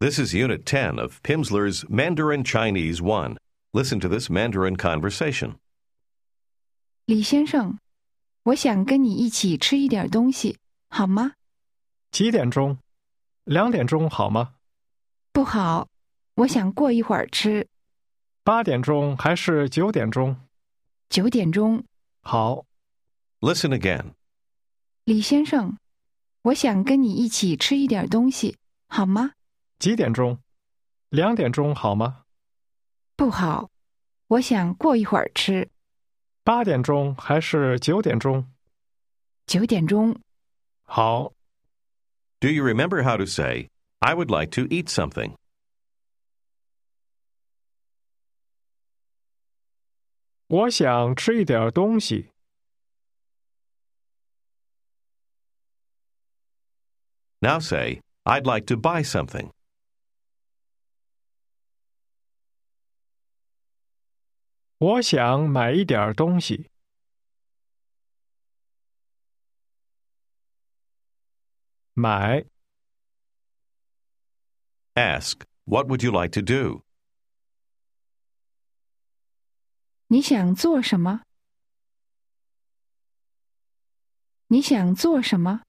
This is Unit 10 of Pimsleur's Mandarin Chinese 1. Listen to this Mandarin conversation. 李先生，我想跟你一起吃一点东西，好吗？ 几点钟？2点钟好吗？ 不好，我想过一会儿吃。 8点钟还是9点钟？ 9点钟。 好， Listen again. 李先生，我想跟你一起吃一点东西，好吗？ 几点钟？2点钟好吗？ 不好，我想过一会儿吃。 8点钟还是9点钟？ 9点钟。 好， Do you remember how to say, I would like to eat something? 我想吃一点东西。 Now say, I'd like to buy something. 我想买一点东西。买， Ask, what would you like to do? 你想做什么？你想做什么？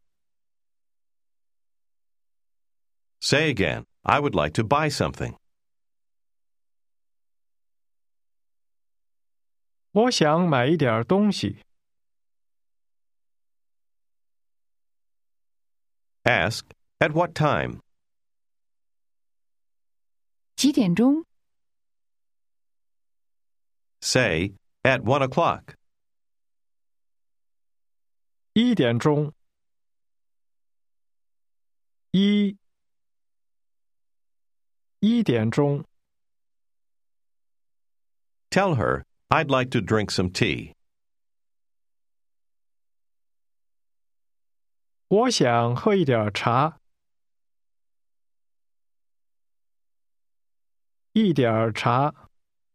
Say again, I would like to buy something. 我想买一点东西。 Ask, at what time? 几点钟？ Say, at 1 o'clock. 1点钟。1点钟。 Tell her, I'd like to drink some tea. 我想喝一点茶。一点茶。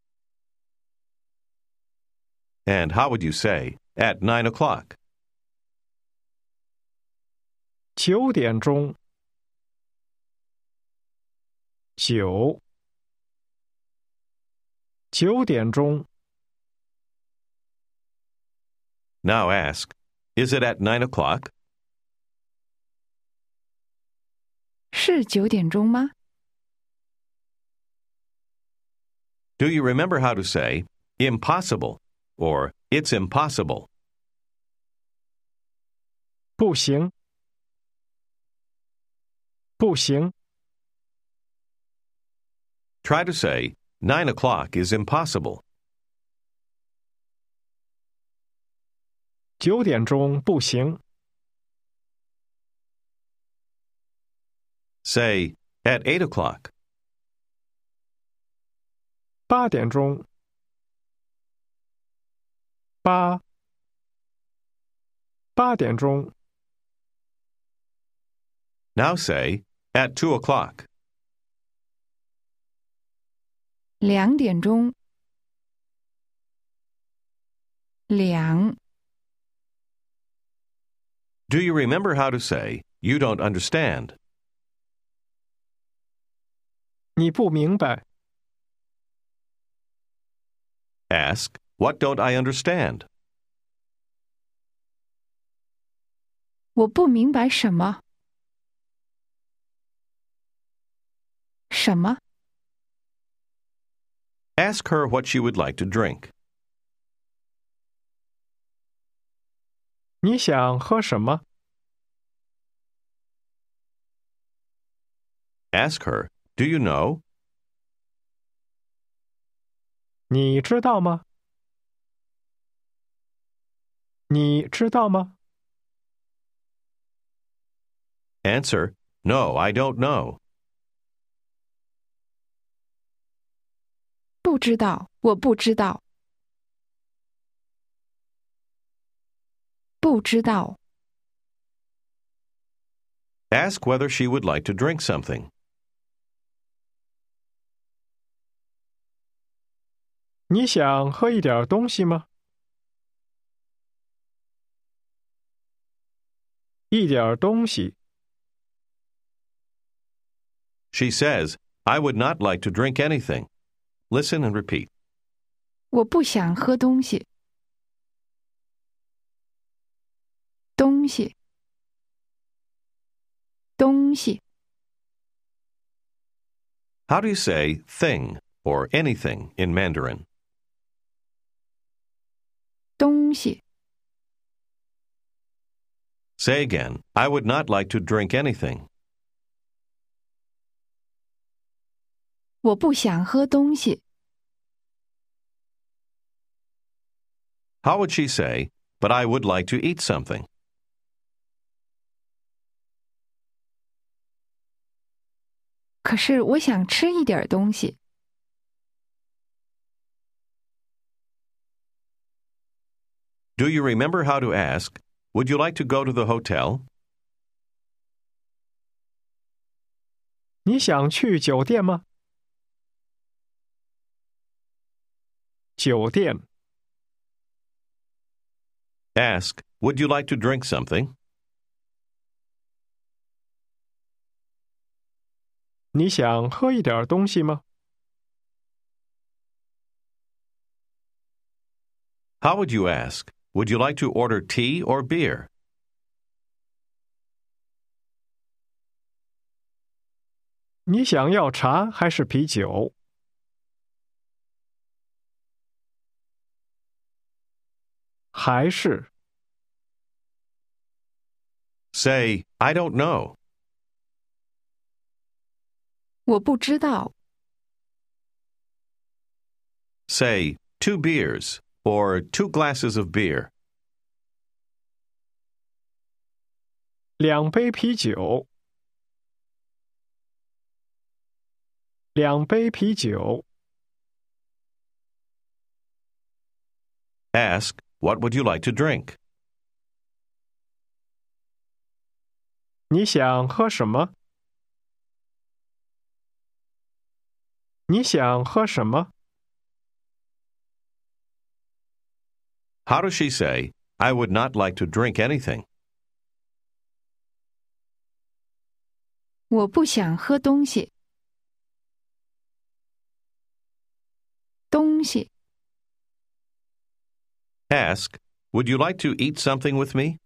And how would you say, at 9 o'clock? 9点钟。9点钟。 Now ask, is it at 9 o'clock? 是9点钟吗？ Do you remember how to say, impossible, or it's impossible? 不行。不行。 Try to say, 9 o'clock is impossible. 9点钟不行。 Say, at 8 o'clock. 8点钟。8点钟。 Now say, at 2 o'clock. 2点钟。2。 Do you remember how to say, you don't understand? 你不明白。 Ask, what don't I understand? 我不明白什么？什么？ Ask her what she would like to drink. 你想喝什么？ Ask her, do you know? 你知道吗？你知道吗？ Answer, no, I don't know. 不知道，我不知道。不知道。 Ask whether she would like to drink something. 你想喝一点东西吗？一点东西。 She says, I would not like to drink anything. Listen and repeat. 我不想喝东西。东西，东西， How do you say thing or anything in Mandarin? 东西。 Say again, I would not like to drink anything. 我不想喝东西。 How would she say, but I would like to eat something? 可是我想吃一点东西。 Do you remember how to ask, would you like to go to the hotel? 你想去酒店吗？酒店。 Ask, would you like to drink something? 你想喝一点东西吗？ How would you ask, would you like to order tea or beer? 你想要茶还是啤酒？还是 Say, I don't know. 我不知道。 Say, 2 beers or 2 glasses of beer. 2杯啤酒。2杯啤酒。 Ask, what would you like to drink? 你想喝什么？你想喝什么？ How does she say, I would not like to drink anything? 我不想喝东西。东西， Ask, would you like to eat something with me?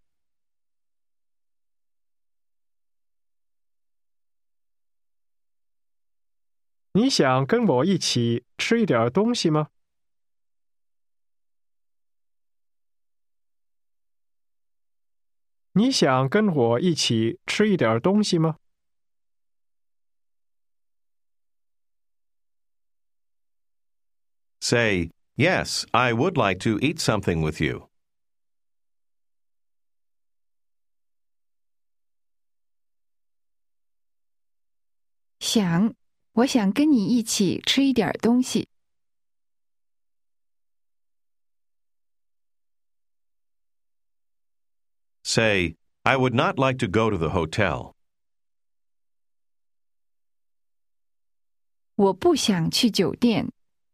你想跟我一起吃一点东西吗？你想跟我一起吃一点东西吗？ Say, yes, I would like to eat something with you. 想，我想跟你一起吃一点东西。 Say, I would not like to go to the hotel. 我不想去酒店。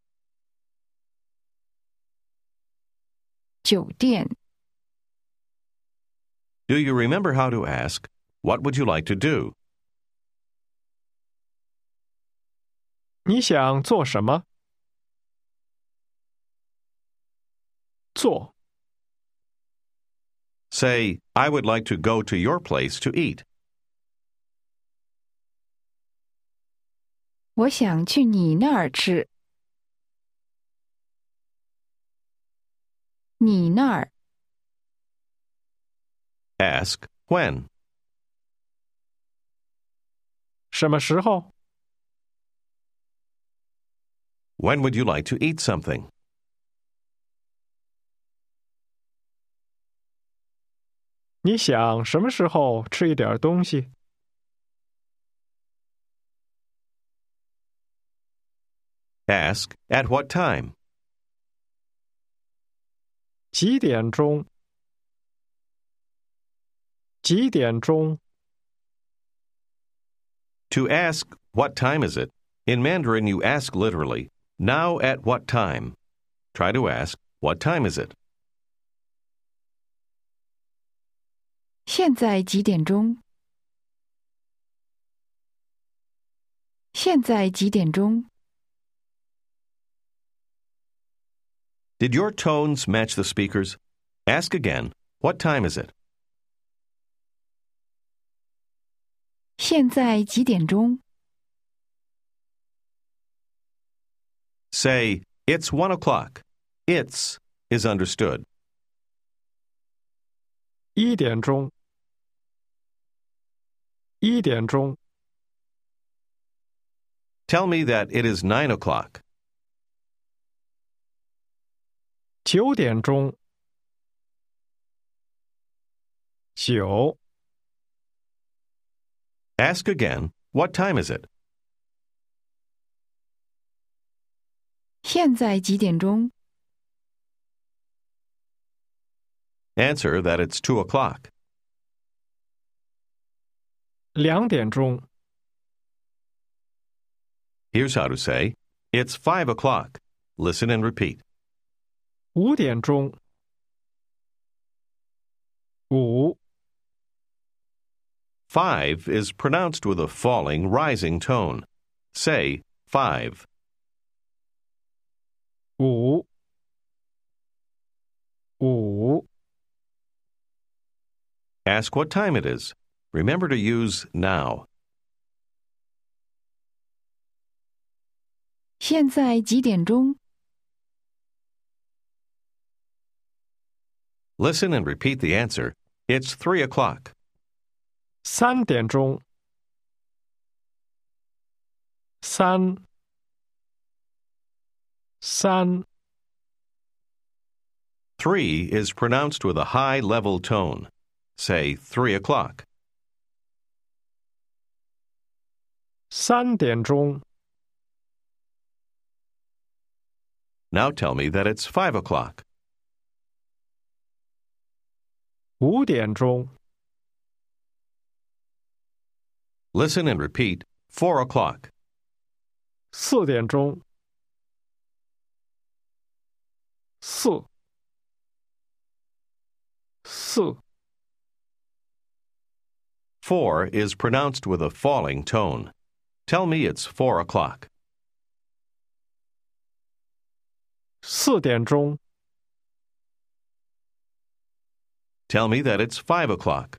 酒店， Do you remember how to ask, what would you like to do? 你想做什么？做。 Say, I would like to go to your place to eat. 我想去你那儿吃。你那儿， Ask, when? 什么时候？ When would you like to eat something? 你想什么时候吃一点东西？ Ask, at what time? 几点钟？几点钟？ To ask, what time is it? In Mandarin, you ask literally, now at what time? Try to ask, what time is it? 现在几点钟？ 现在几点钟？ Did your tones match the speakers? Ask again. What time is it? 现在几点钟？ Say, it's 1 o'clock. It's is understood. 1点钟。1点钟。 Tell me that it is 9 o'clock. 9点钟。9。 Ask again. What time is it? 现在几点钟？ Answer that it's 2 o'clock. 2点钟。 Here's how to say, it's 5 o'clock. Listen and repeat. 5点钟。5。 5 is pronounced with a falling, rising tone. Say, 5. 5。5。 Ask what time it is. Remember to use now. 现在几点钟？ Listen and repeat the answer. It's 3 o'clock. 3点钟。3。3。 3 is pronounced with a high level tone. Say 3 o'clock. 3点钟。 Now tell me that it's 5 o'clock. 5点钟。 Listen and repeat 4 o'clock. 4点钟。4。4。 4 is pronounced with a falling tone. Tell me it's 4 o'clock. 4点钟。 Tell me that it's 5 o'clock.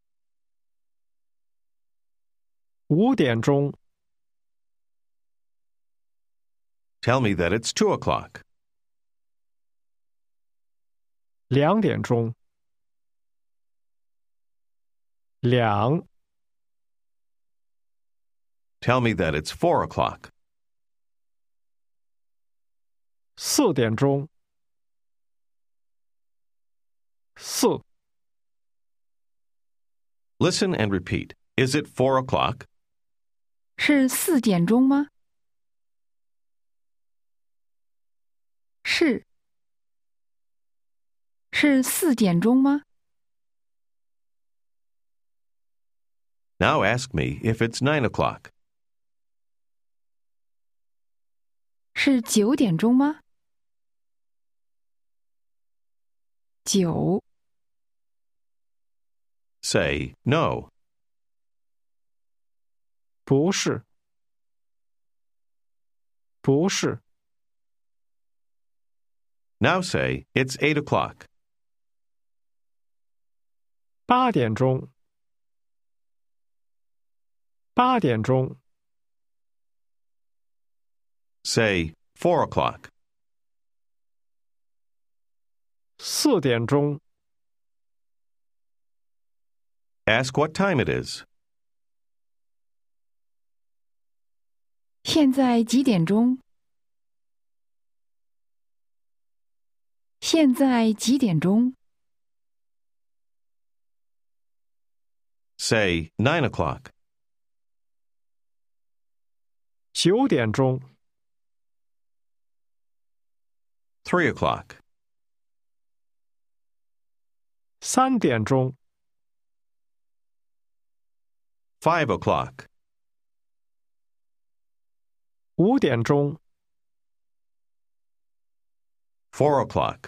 5点钟。 Tell me that it's 2 o'clock. 2点钟。2。 Tell me that it's 4 o'clock. 4点钟。4。 Listen and repeat. Is it 4 o'clock? 是4点钟吗？是。是4点钟吗？ Now ask me if it's 9 o'clock. 是9点钟吗？9。 Say no. 不是。不是。 Now say it's 8 o'clock. 8点钟。8点钟。 Say 4 o'clock. 4点钟。 Ask what time it is. 现在几点钟？现在几点钟？ Say 9 o'clock. 9点钟。 3 o'clock. 3点钟。 5 o'clock. 5点钟。 4 o'clock.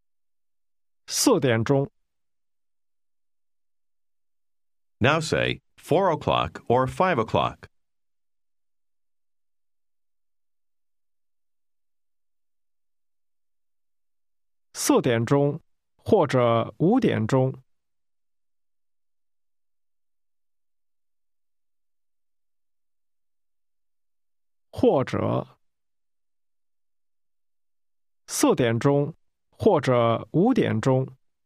4点钟。 Now say 4 o'clock or 5 o'clock? 4点钟或者5点钟。或者4点钟或者5点钟。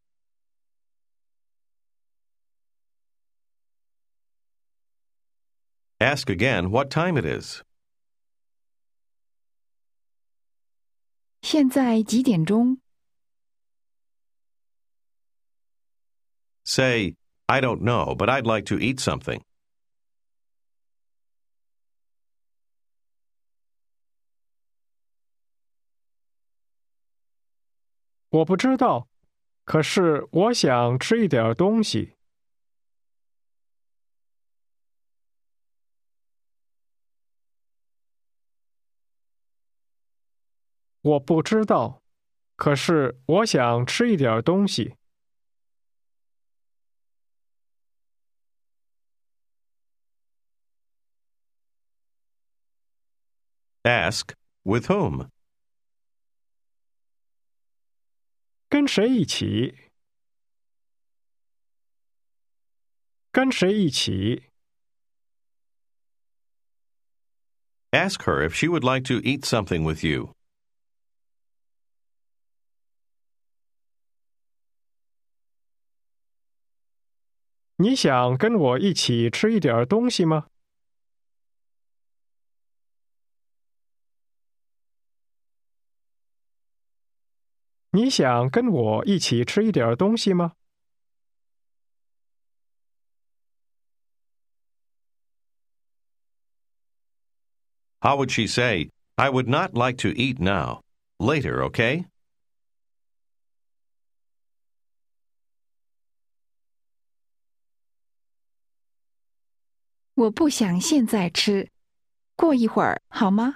Ask again what time it is. 现在几点钟？ Say, I don't know, but I'd like to eat something. 我不知道，可是我想吃一点东西。我不知道，可是我想吃一点东西。 Ask, with whom? 跟谁一起？跟谁一起？ Ask her if she would like to eat something with you. 你想跟我一起吃一点东西吗？你想跟我一起吃一点东西吗？ How would she say, I would not like to eat now. Later, okay? 我不想现在吃，过一会儿好吗？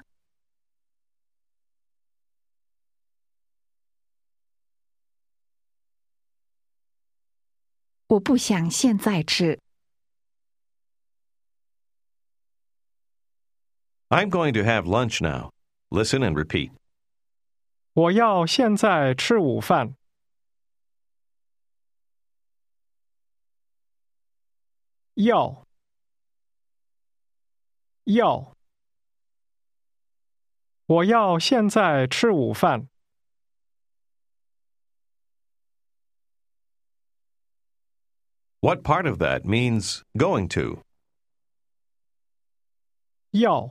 我不想现在吃。 I'm going to have lunch now. Listen and repeat. 我要现在吃午饭。要。我要现在吃午饭。 What part of that means going to? 要。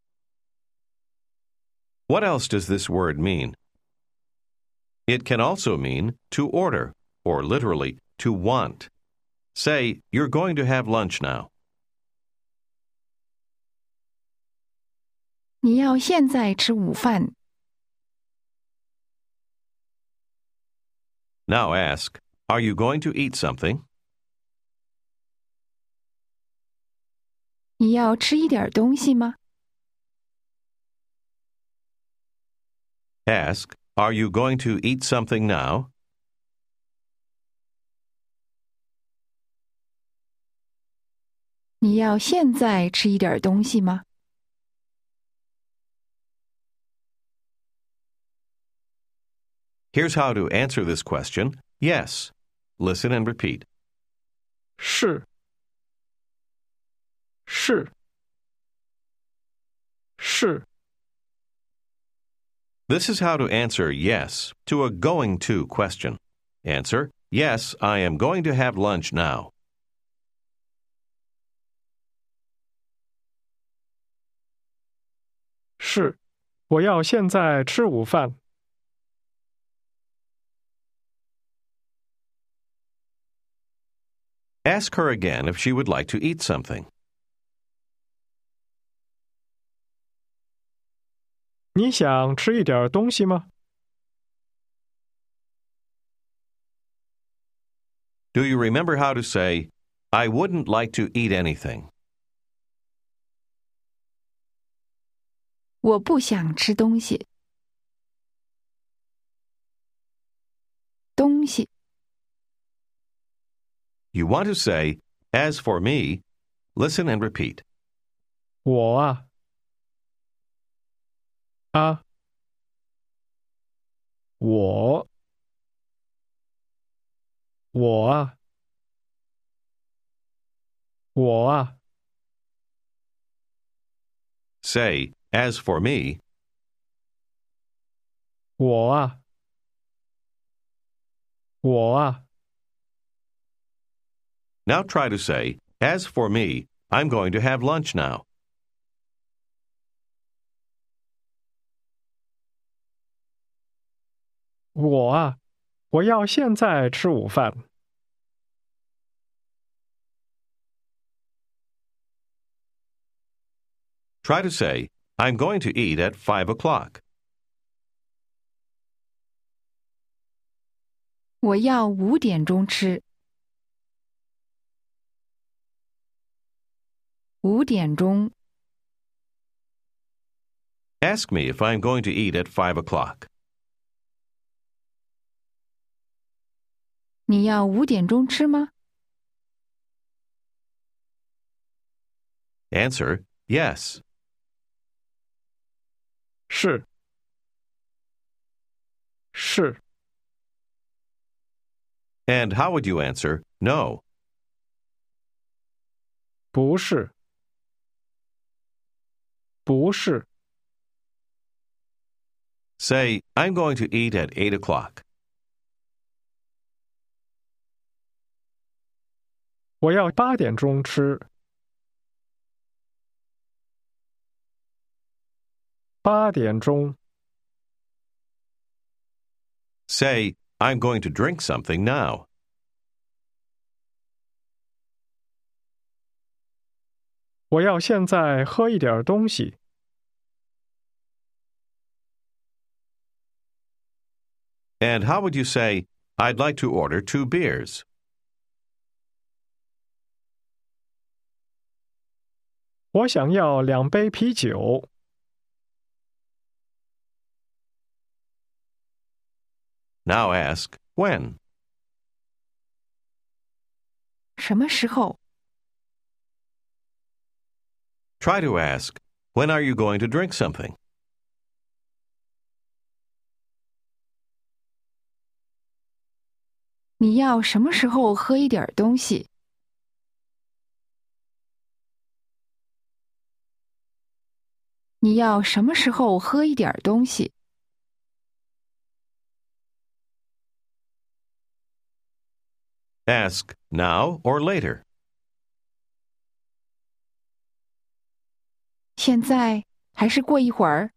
What else does this word mean? It can also mean to order, or literally, to want. Say, you're going to have lunch now. 你要现在吃午饭。 Now ask, are you going to eat something? 你要吃一点东西吗？ Ask, are you going to eat something now? 你要现在吃一点东西吗？ Here's how to answer this question. Yes. Listen and repeat. 是。 This is how to answer yes to a going to question. Answer, yes, I am going to have lunch now. 是。我要现在吃午饭。 Ask her again if she would like to eat something. 你想吃一点东西吗？ Do you remember how to say, I wouldn't like to eat anything? 我不想吃东西。东西。 You want to say, as for me, Listen and repeat. 我啊，我。 Say, as for me, 我。 Now try to say, as for me, I'm going to have lunch now. 我要现在吃午饭。 Try to say, I'm going to eat at 5 o'clock. 我要5点钟吃。5点钟。 Ask me if I'm going to eat at 5 o'clock. 你要5点钟吃吗？ Answer, yes. 是。 And how would you answer, no? 不是。 Say, I'm going to eat at 8 o'clock. 我要8点钟吃。8点钟。 Say, I'm going to drink something now. 我要现在喝一点东西。 And how would you say, I'd like to order 2 beers? 我想要2杯啤酒。 Now ask, when? 什么时候？ Try to ask, when are you going to drink something? 你要什么时候喝一点东西？你要什么时候喝一点东西？ Ask, now or later? 现在还是过一会儿？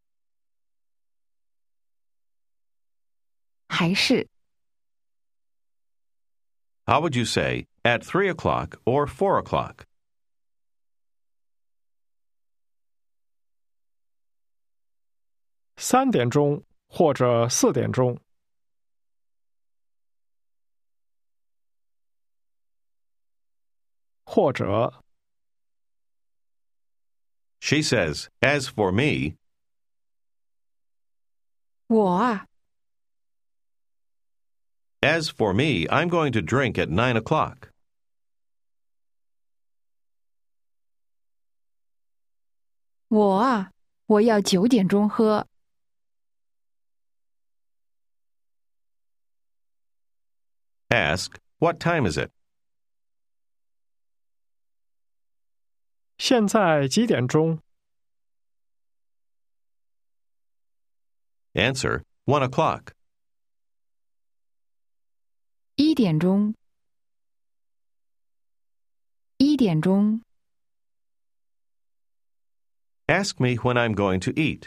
还是。 How would you say, at 3 o'clock or 4 o'clock? 3点钟或者4点钟。或者。 She says, as for me, 我 as for me, I'm going to drink at 9 o'clock. 我要9点钟喝。 Ask, what time is it? 现在几点钟？ Answer, 1 o'clock. 1点钟。1点钟。 Ask me when I'm going to eat.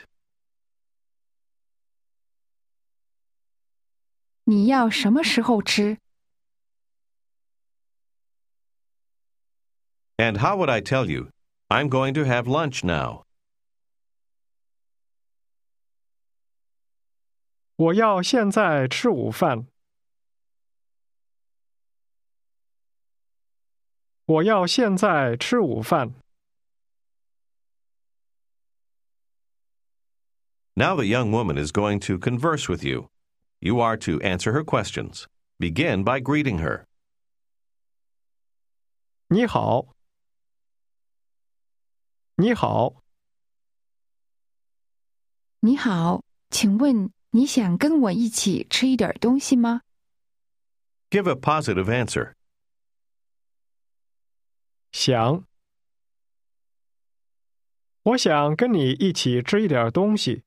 你要什么时候吃？ And how would I tell you, I'm going to have lunch now? 我要现在吃午饭。我要现在吃午饭。 Now the young woman is going to converse with you. You are to answer her questions. Begin by greeting her. 你好。 你好， 你好，请问你想跟我一起吃一点东西吗？ Give a positive answer. 想。我想跟你一起吃一点东西。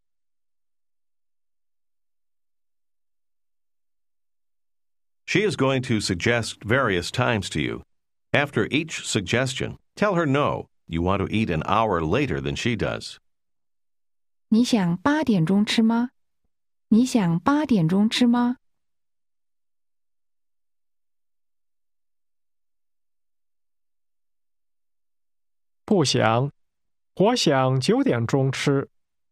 She is going to suggest various times to you. After each suggestion, tell her no, you want to eat an hour later than she does. 你想8点钟吃吗？你想8点钟吃吗？ 不想，我想9点钟吃。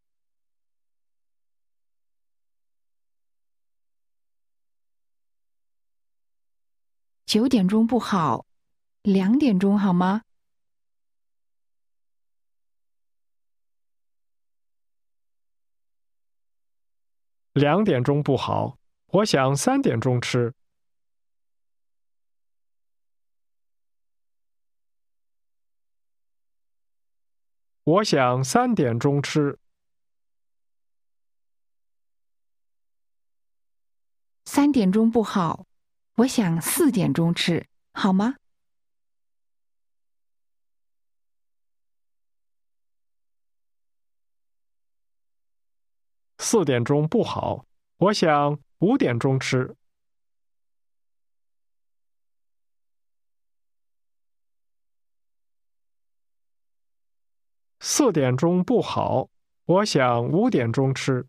9点钟不好，2点钟好吗？ 2点钟不好，我想3点钟吃。我想3点钟吃。 3点钟不好，我想4点钟吃，好吗？ 4点钟不好，我想5点钟吃。4点钟不好，我想5点钟吃。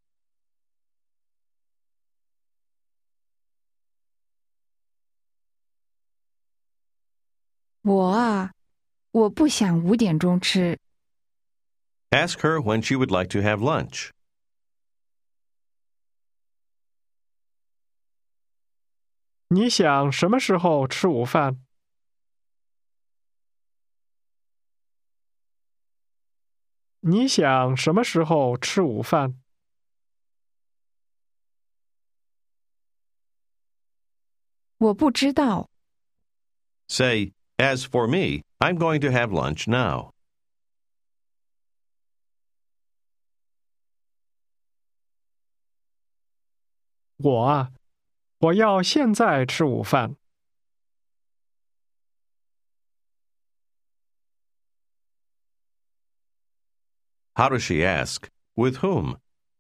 我不想5点钟吃。 Ask her when she would like to have lunch. 你想什么时候吃午饭？你想什么时候吃午饭？ 我不知道。 Say, as for me, I'm going to have lunch now. 我要现在吃午饭。 How does she ask? With whom?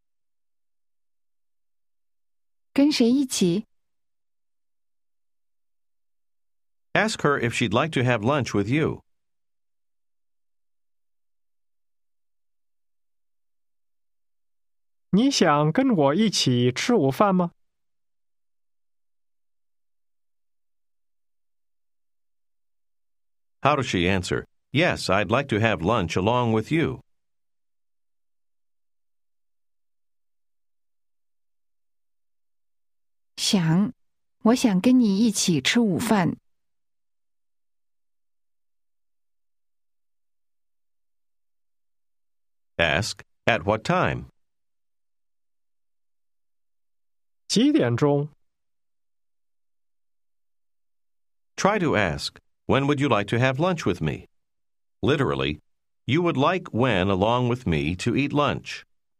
跟谁一起？ Ask her if she'd like to have lunch with you. 你想跟我一起吃午饭吗？ How does she answer? Yes, I'd like to have lunch along with you. 我想跟你一起吃午饭。 Ask, at what time? 几点钟？ Try to ask, when would you like to have lunch with me? Literally, you would like when along with me to eat lunch.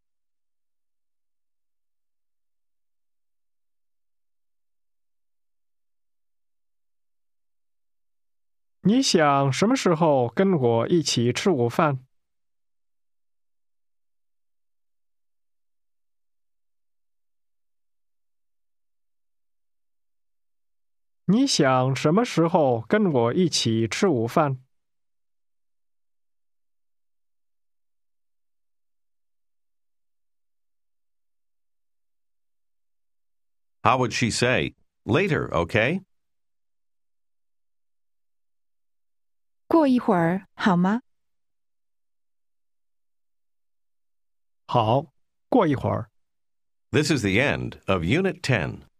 你想什么时候跟我一起吃午饭？你想什么时候跟我一起吃午饭？ How would she say, later, okay? 过一会儿好吗？ 好，过一会儿。 This is the end of Unit 10.